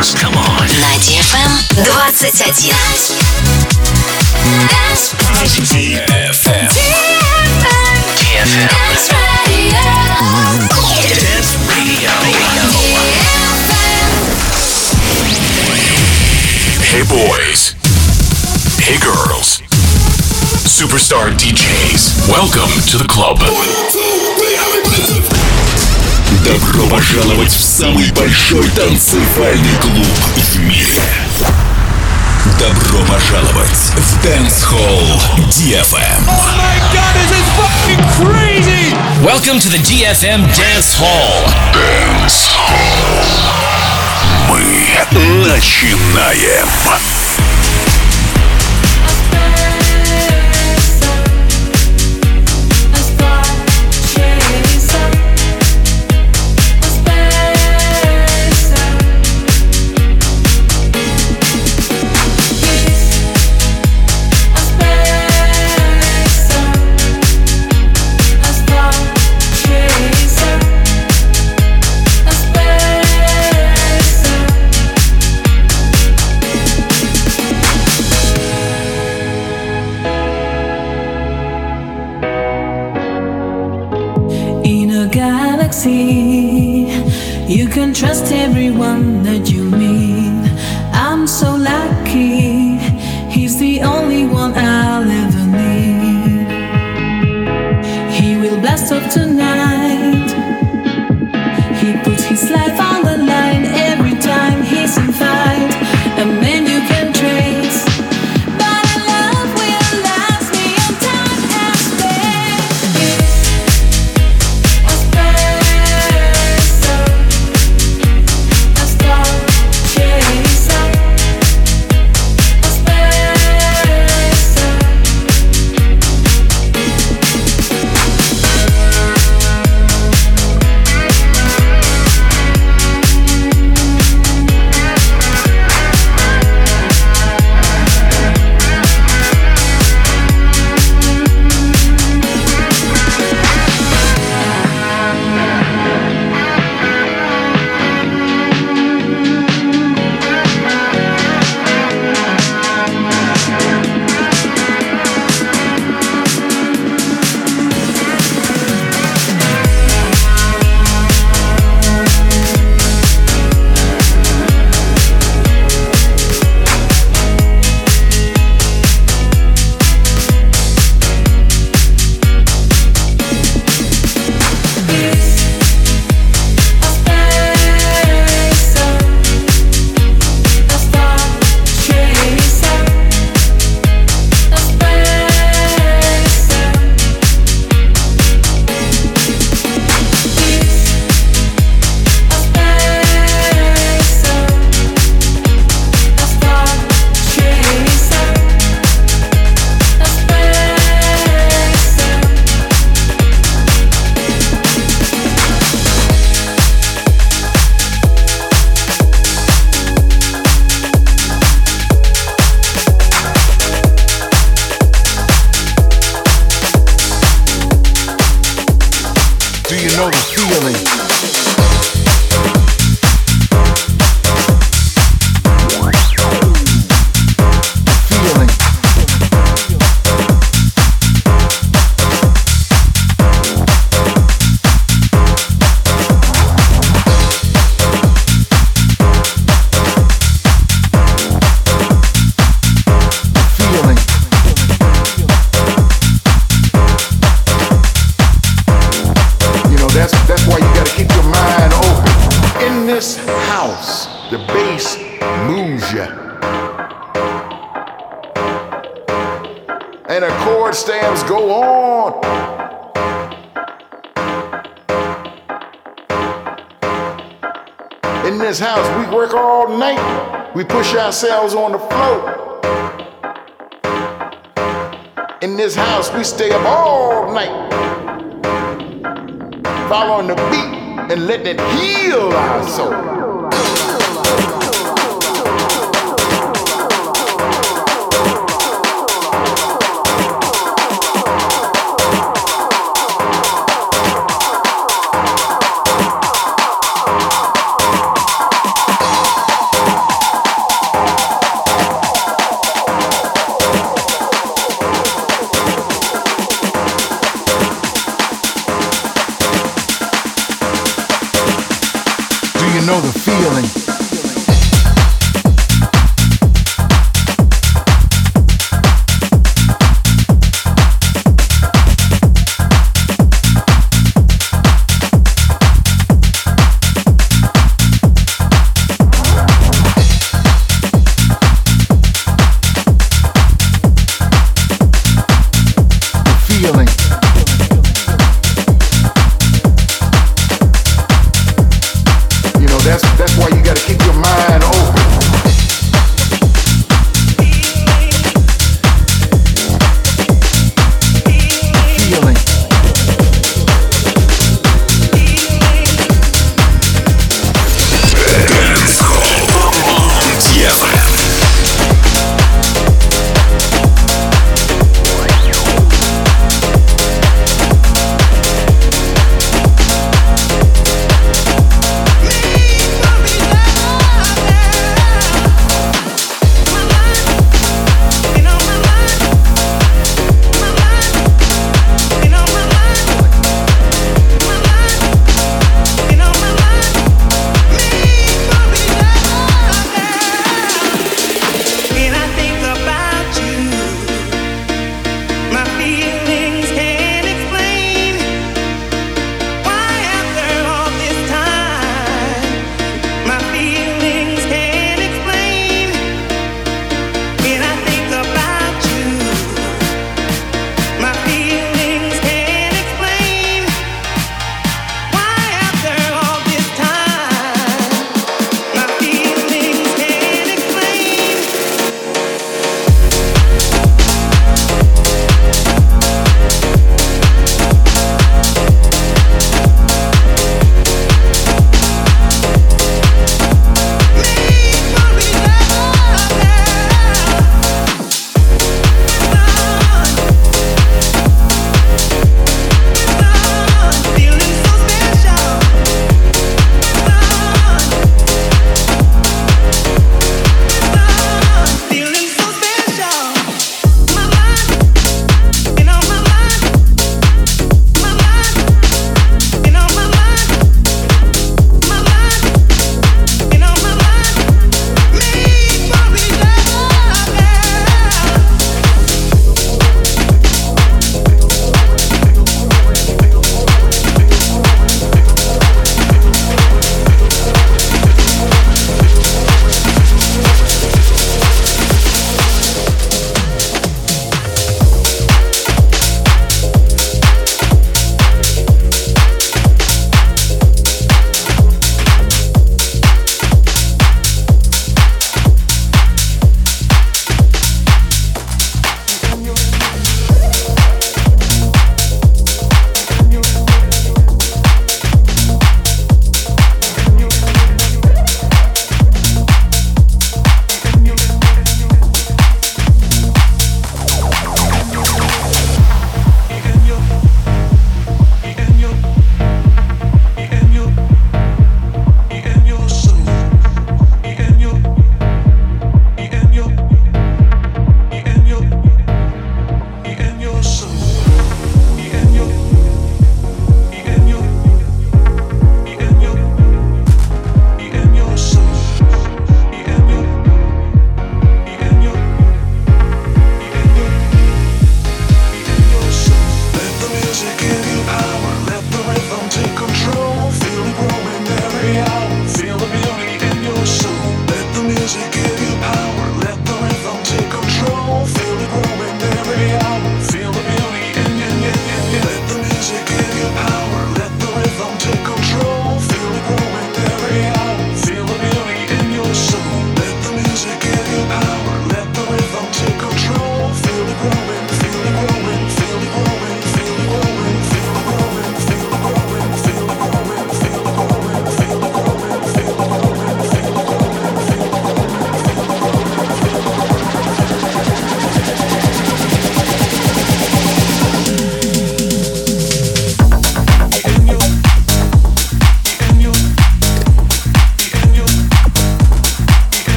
dance. Come on. На DFM 21. DFM. Dance Radio. Hey boys. Hey girls. Superstar DJs. Welcome to the club. Добро пожаловать в самый большой танцевальный клуб в мире. Добро пожаловать в Dance Hall DFM. Oh my God, this is fucking crazy! Welcome to the DFM Dance Hall. Dance Hall. Мы начинаем. You can trust everyone that you meet. I'm so lucky. He's the only one I'll ever need. He will blast off tonight. He puts his life on the line every time he's in fight. A man you can trace, but a love will last beyond time and space. We push ourselves on the floor. In this house, we stay up all night, following the beat and letting it heal our soul. know the feeling. That's why you gotta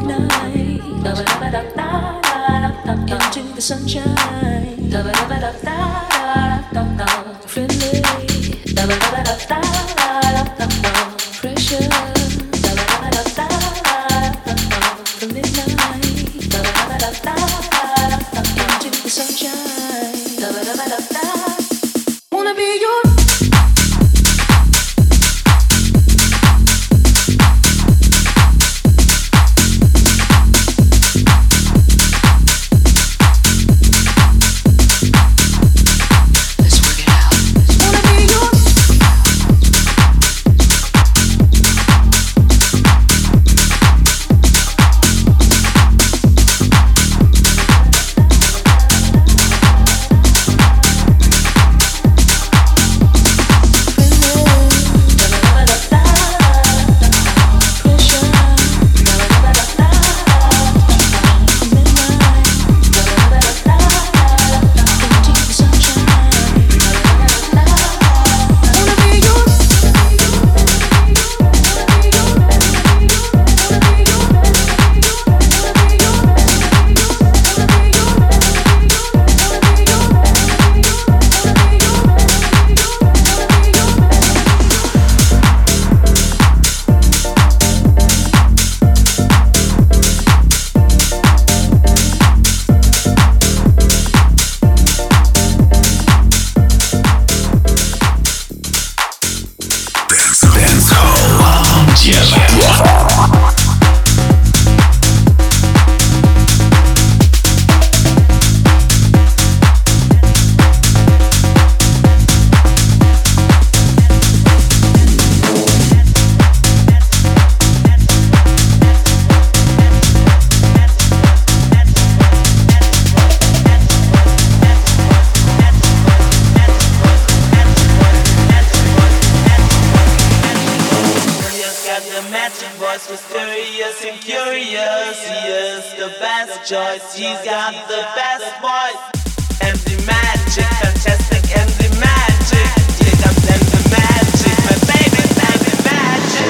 midnight. Into the sunshine. Friendly. Pressure. From midnight. Into the sunshine. Wanna be your choice, he's got the best voice. MD Magic, fantastic MD Magic. Here comes MD Magic, my baby's MD Magic.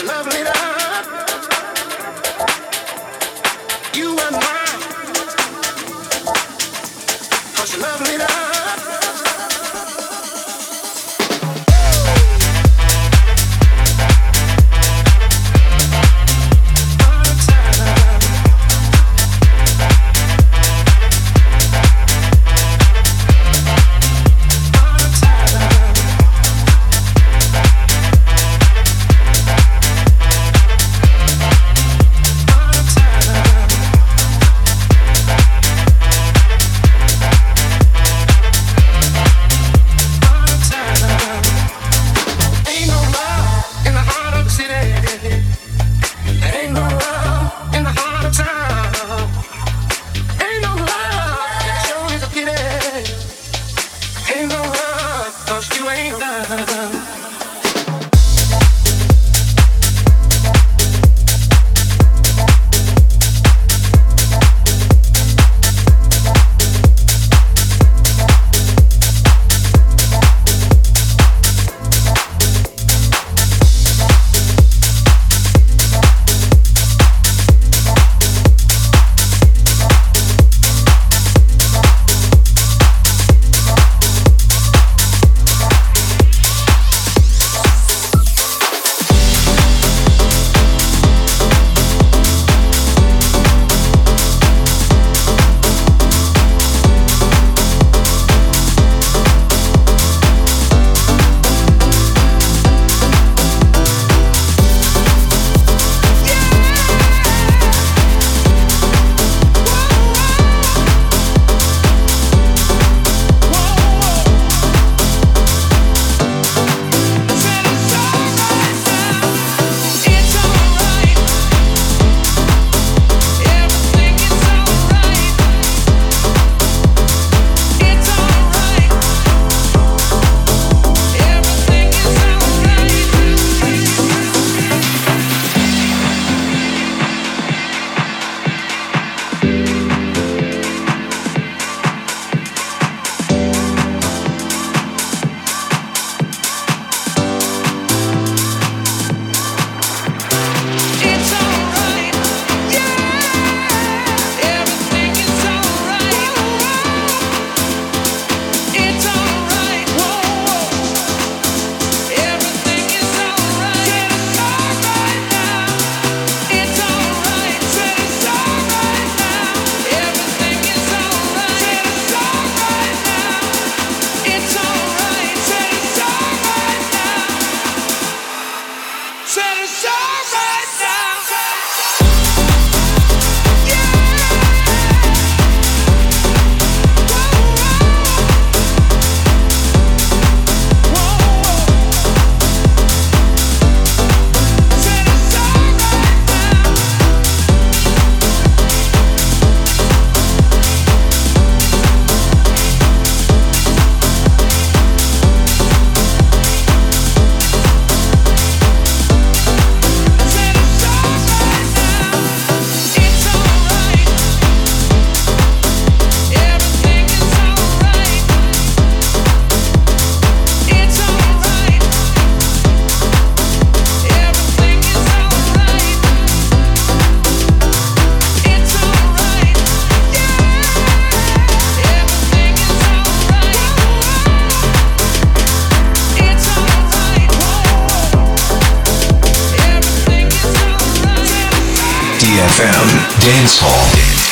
DFM Dance Hall.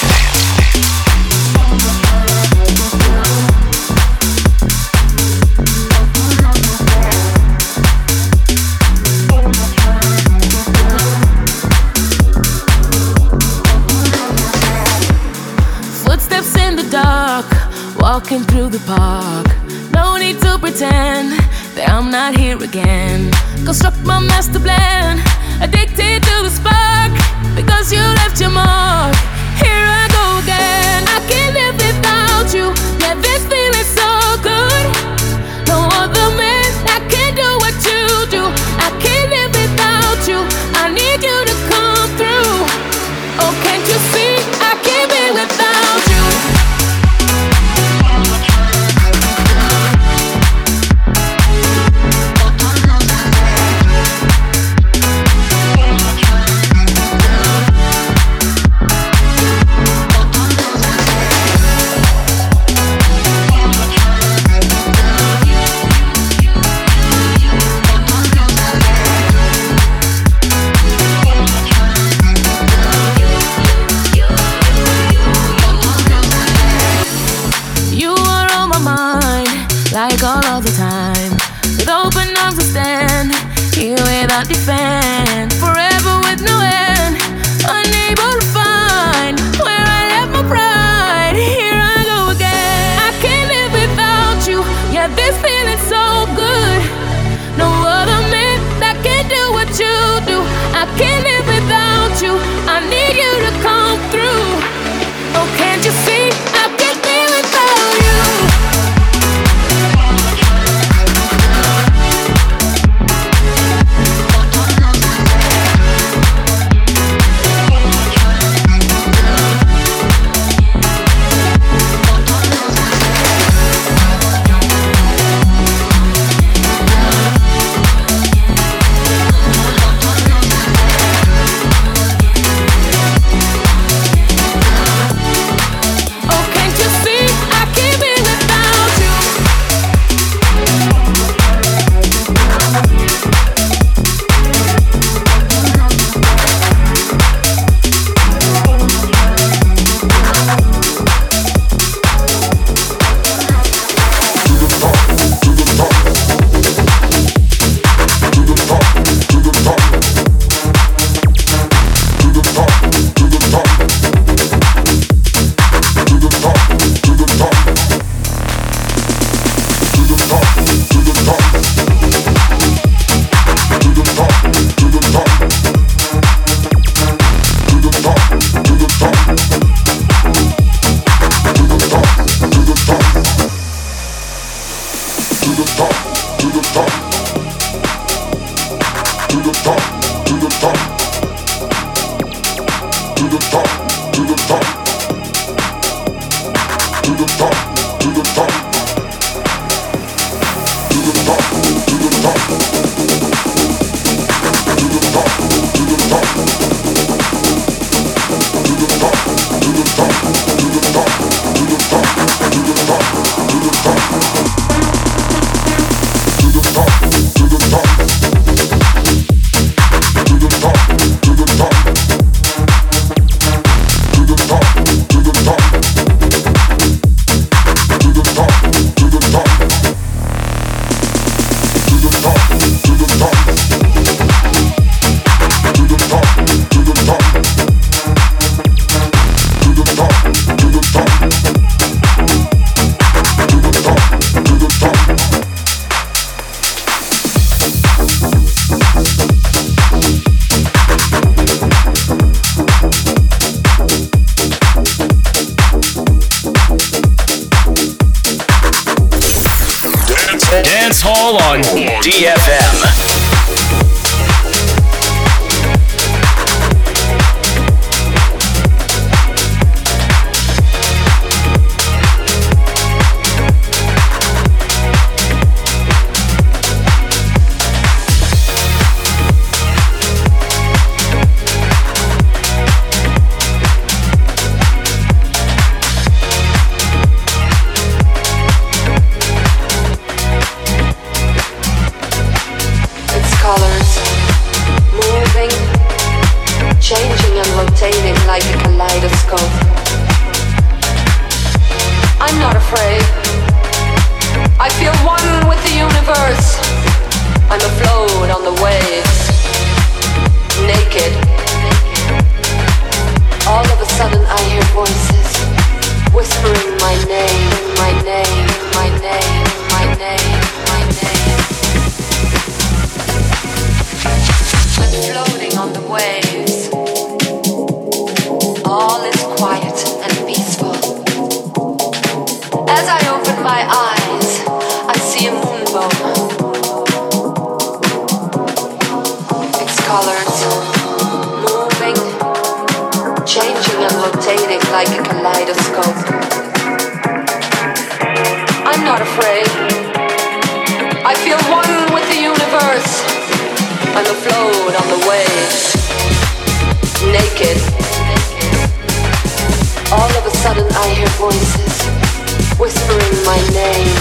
Footsteps in the dark, walking through the park. No need to pretend that I'm not here again. Construct my master plan, addicted to the spark. Because you left your mark, here I go again. I can't live without you, yeah, this feeling so good. No other man, I can't do what you do. I can't live without you, I need you to come through. Oh, can't you see, I can't be without you. I'll defend forever with no end. Unable to find where I left my pride. Here I go again. I can't live without you. Yeah, this feeling's so good. No other man that can do what you do. I can't live without you. I need you to come through. Oh, can't you see? I can't live without you. Dance Hall on DFM. Like a kaleidoscope. I'm not afraid. I feel one with the universe. I'm afloat on the waves, naked. All of a sudden I hear voices whispering my name, my name, my name, my name, my name. I'm floating on the waves. All is quiet and peaceful. As I open my eyes, I see a moonbow. Its colors moving, changing and rotating like a kaleidoscope. I'm not afraid. I feel one with the universe. I'm afloat on the waves, naked. All of a sudden I hear voices whispering my name.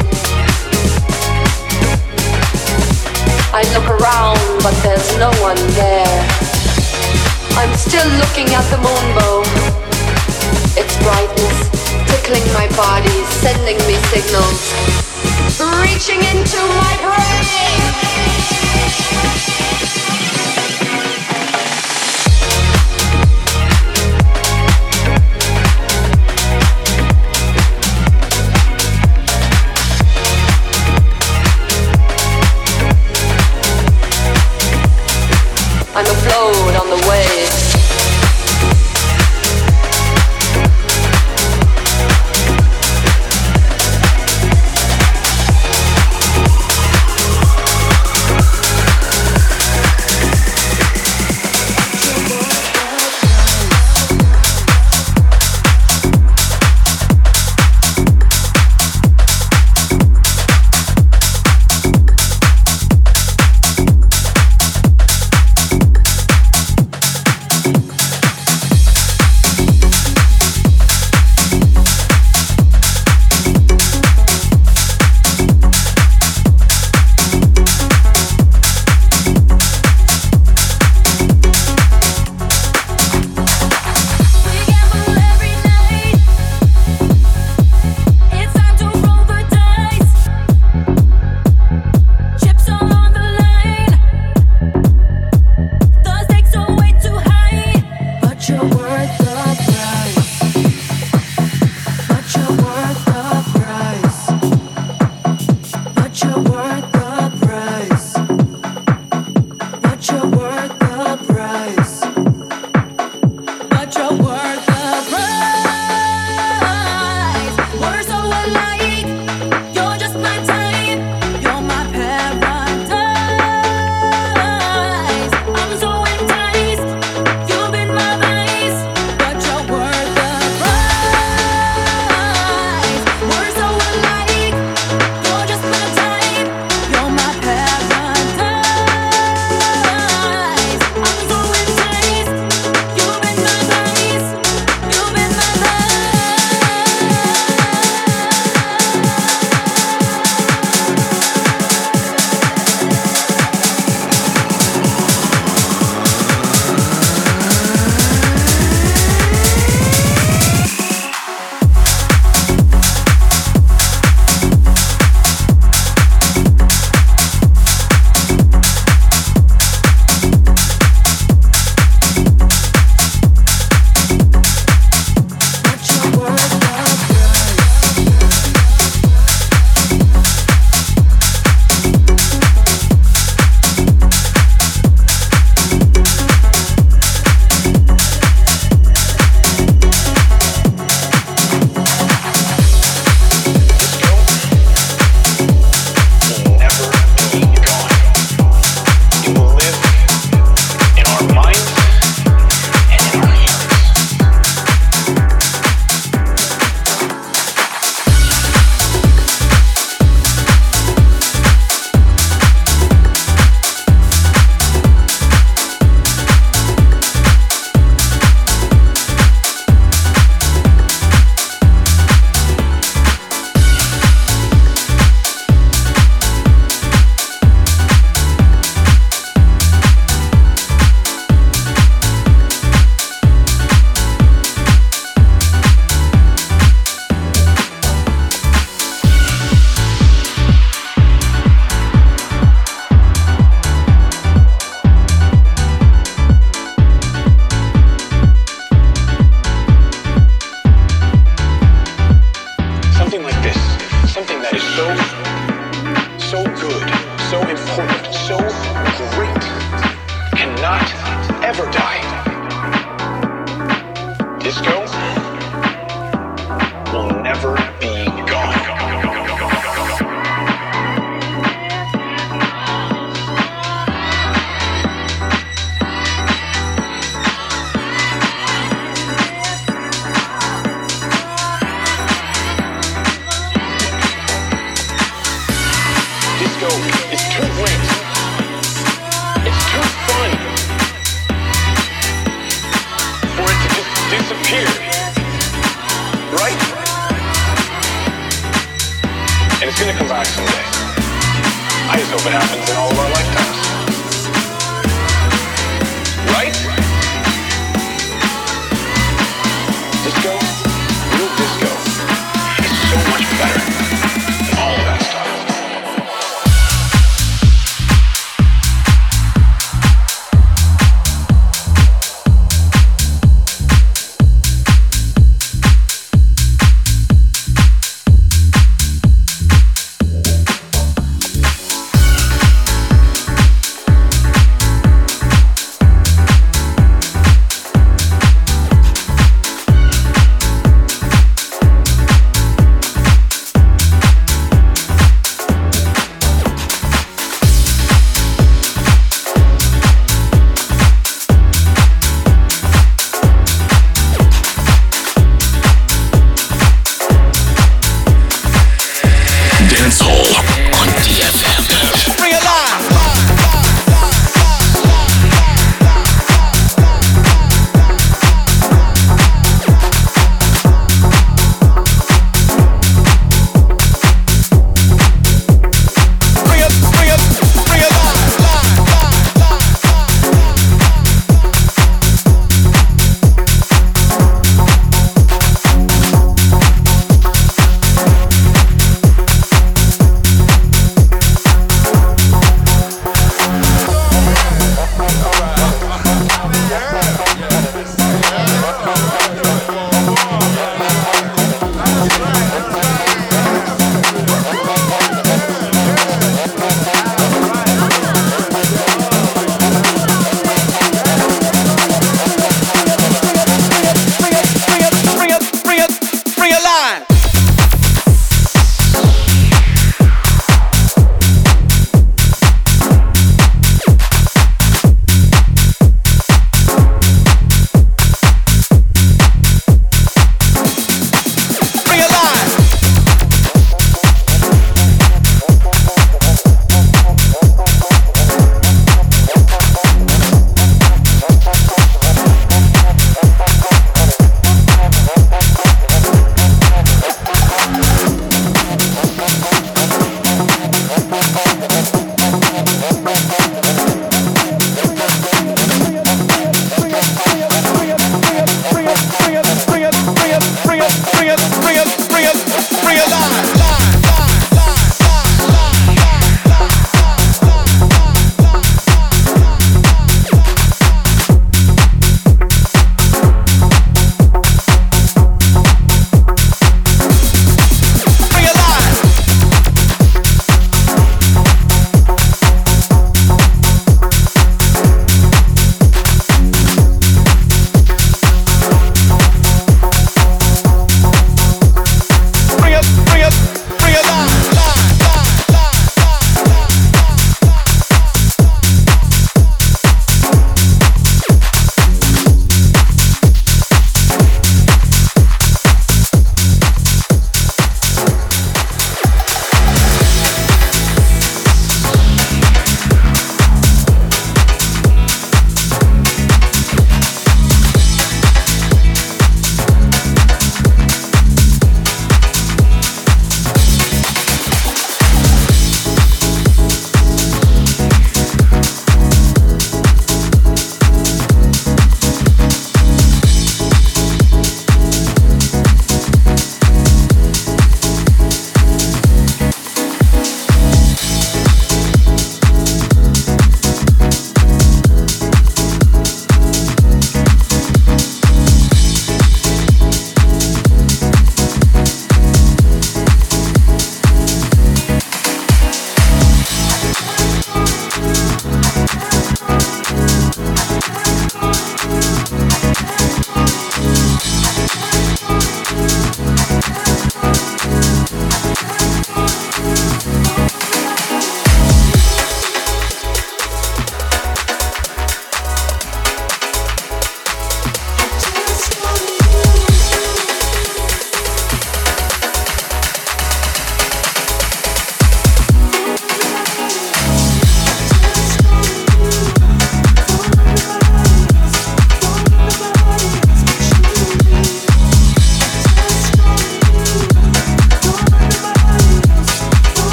I look around but there's no one there. I'm still looking at the moonbow. Its brightness tickling my body, sending me signals, reaching into my brain. I'm afloat on the waves.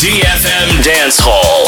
DFM Dance Hall.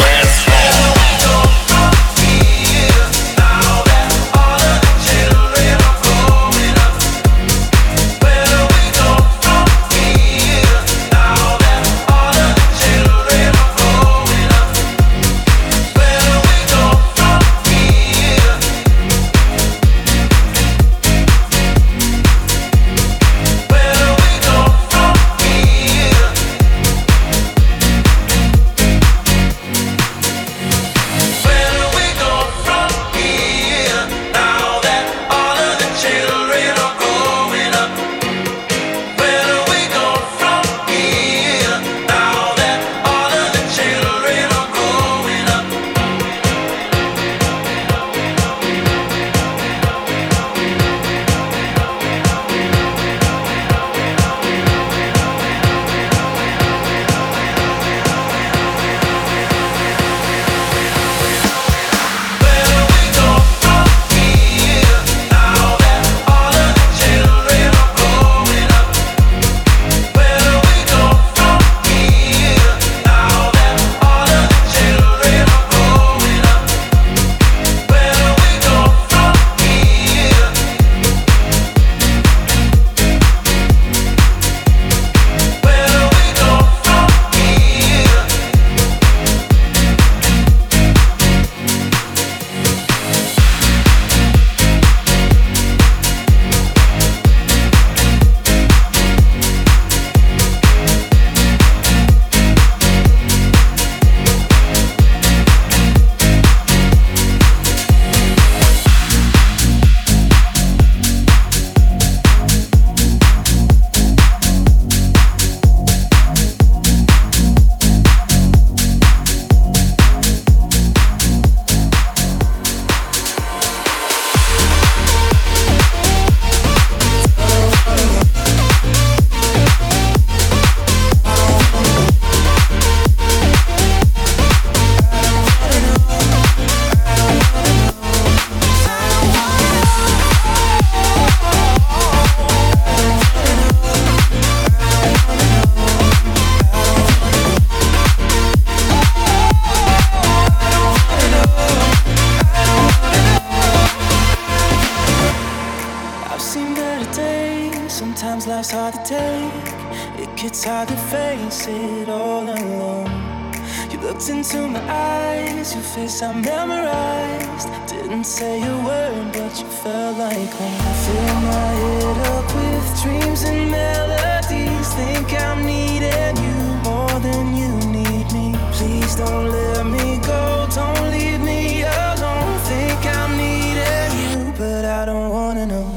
life's hard to take. It gets hard to face it all alone. You looked into my eyes, your face I memorized. Didn't say a word, but you felt like home. Fill my head up with dreams and melodies. Think I'm needing you more than you need me. Please don't let me go, don't leave me alone. Think I'm needing you, but I don't wanna know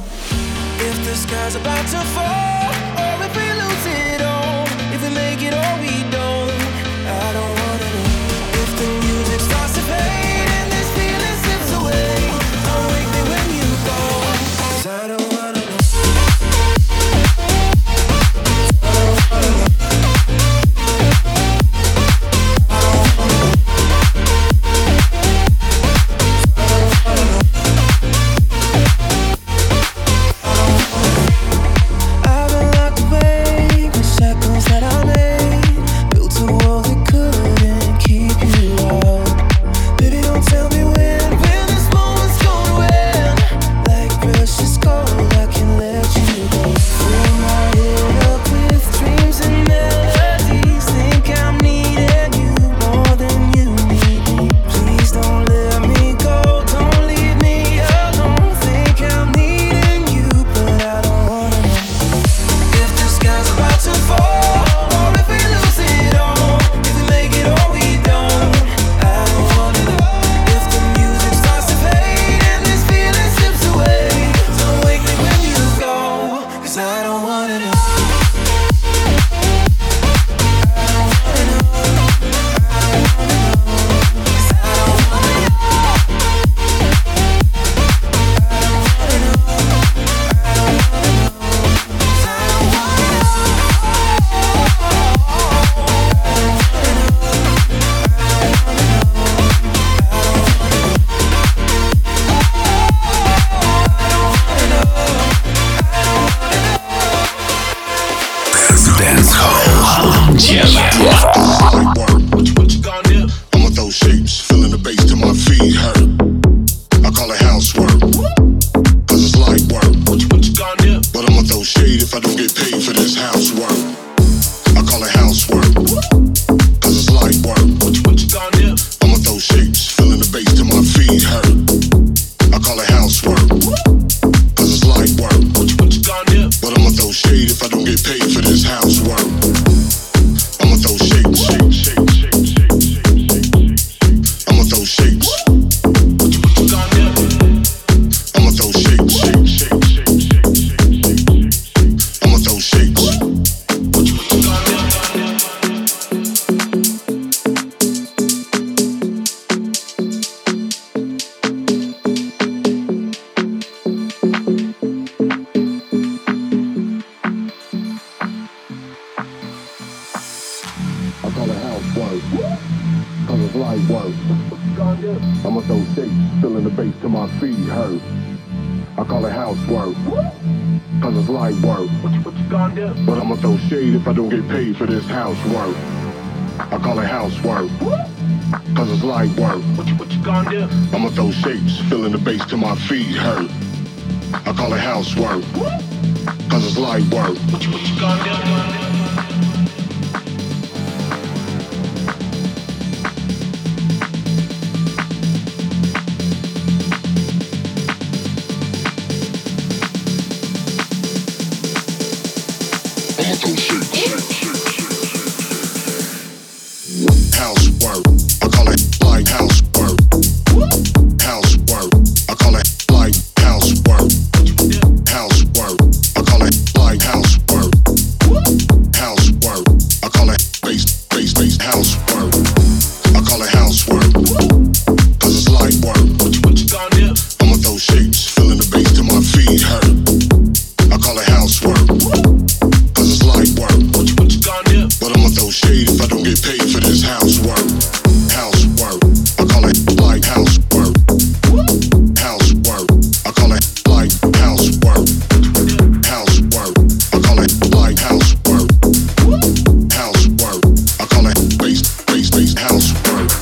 if the sky's about to fall, or if we lose it all, if we make it or we don't. I don't wanna know if the music starts to fade and this feeling slips away. Don't wake me when you go, 'cause I don't wanna know. I've been feeling the bass till my feet hurt. I call it housework, cause it's light work. What you gonna do? But I'ma throw shade if I don't get paid for this housework. I call it housework, cause it's light work. What you gonna do? I'ma throw shapes, feeling the bass till my feet hurt. I call it housework, cause it's light work. What you gonna do? Housework, I call it light housework. Housework, I call it light housework. Housework, I call it light housework. Housework, I call it bass housework. I call it housework, cause it's light work. What you gonna do? I'ma throw shapes, feeling the bass till my feet hurt. I call it housework, cause it's light work. What you gonna do? But I'ma throw shade if I don't get paid for this housework. Housework, I call it light housework. Housework, I call it light housework. Housework, I call it light housework. Housework, I call it bass housework.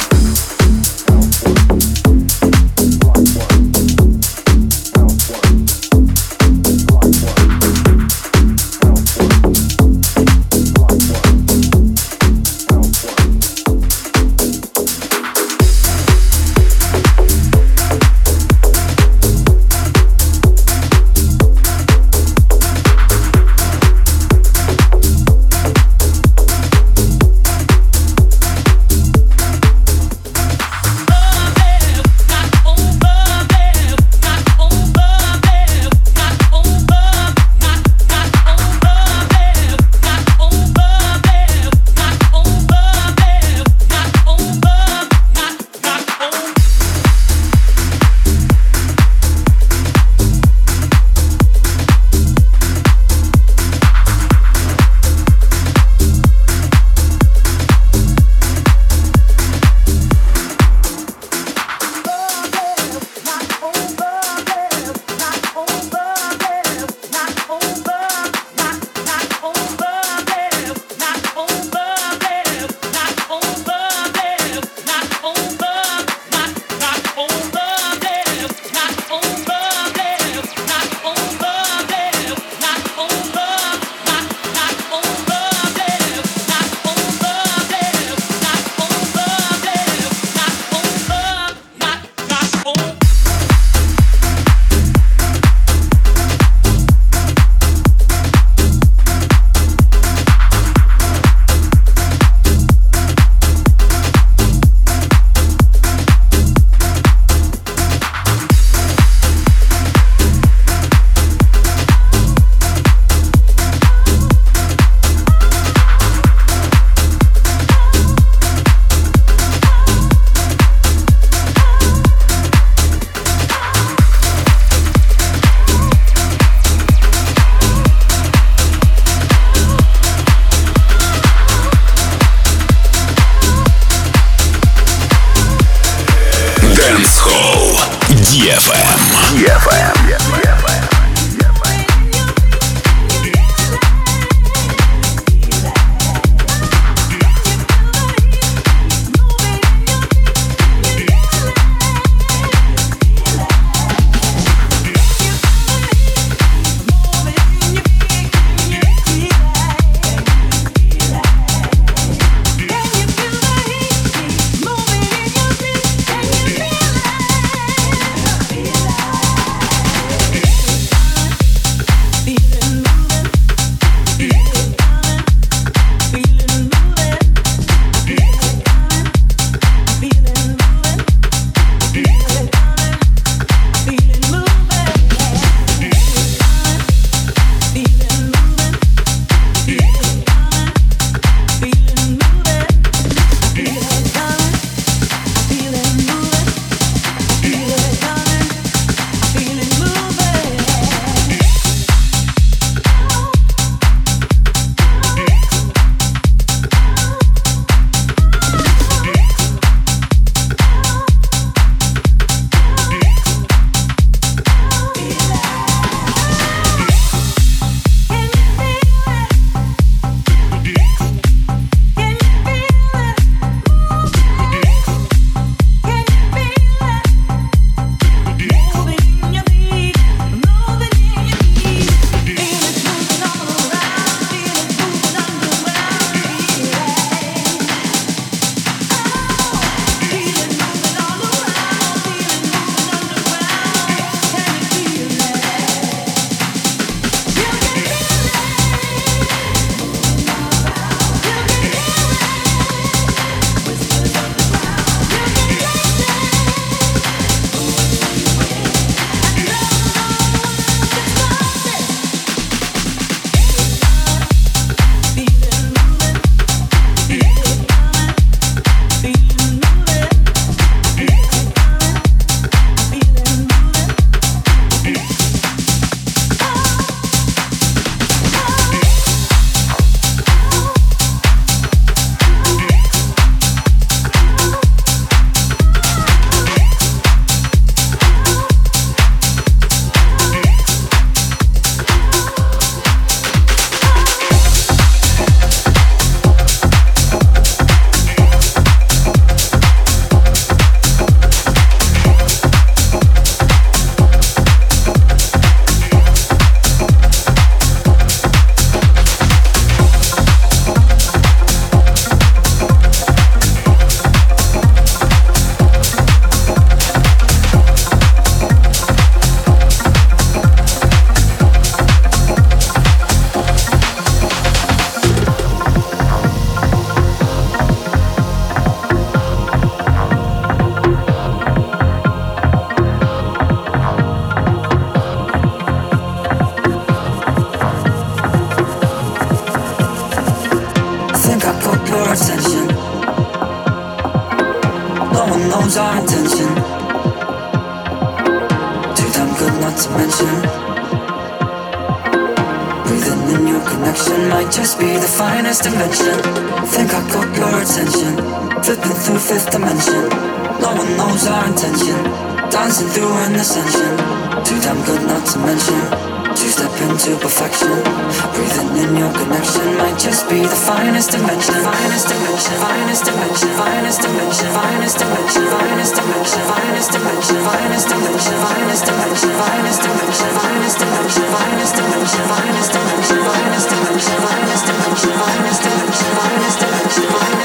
connection might just be the finest invention. Think I got your attention, flipping through fifth dimension. No one knows our intention, dancing through an ascension. Too damn good not to mention, two-step into perfection. Breathing in your connection might just be the finest dimension. Finest dimension, finest dimension, finest dimension, finest dimension, finest dimension, finest dimension, finest dimension, finest dimension, finest dimension, finest dimension, finest dimension, finest dimension, finest dimension, finest dimension, finest dimension, finest dimension, finest dimension.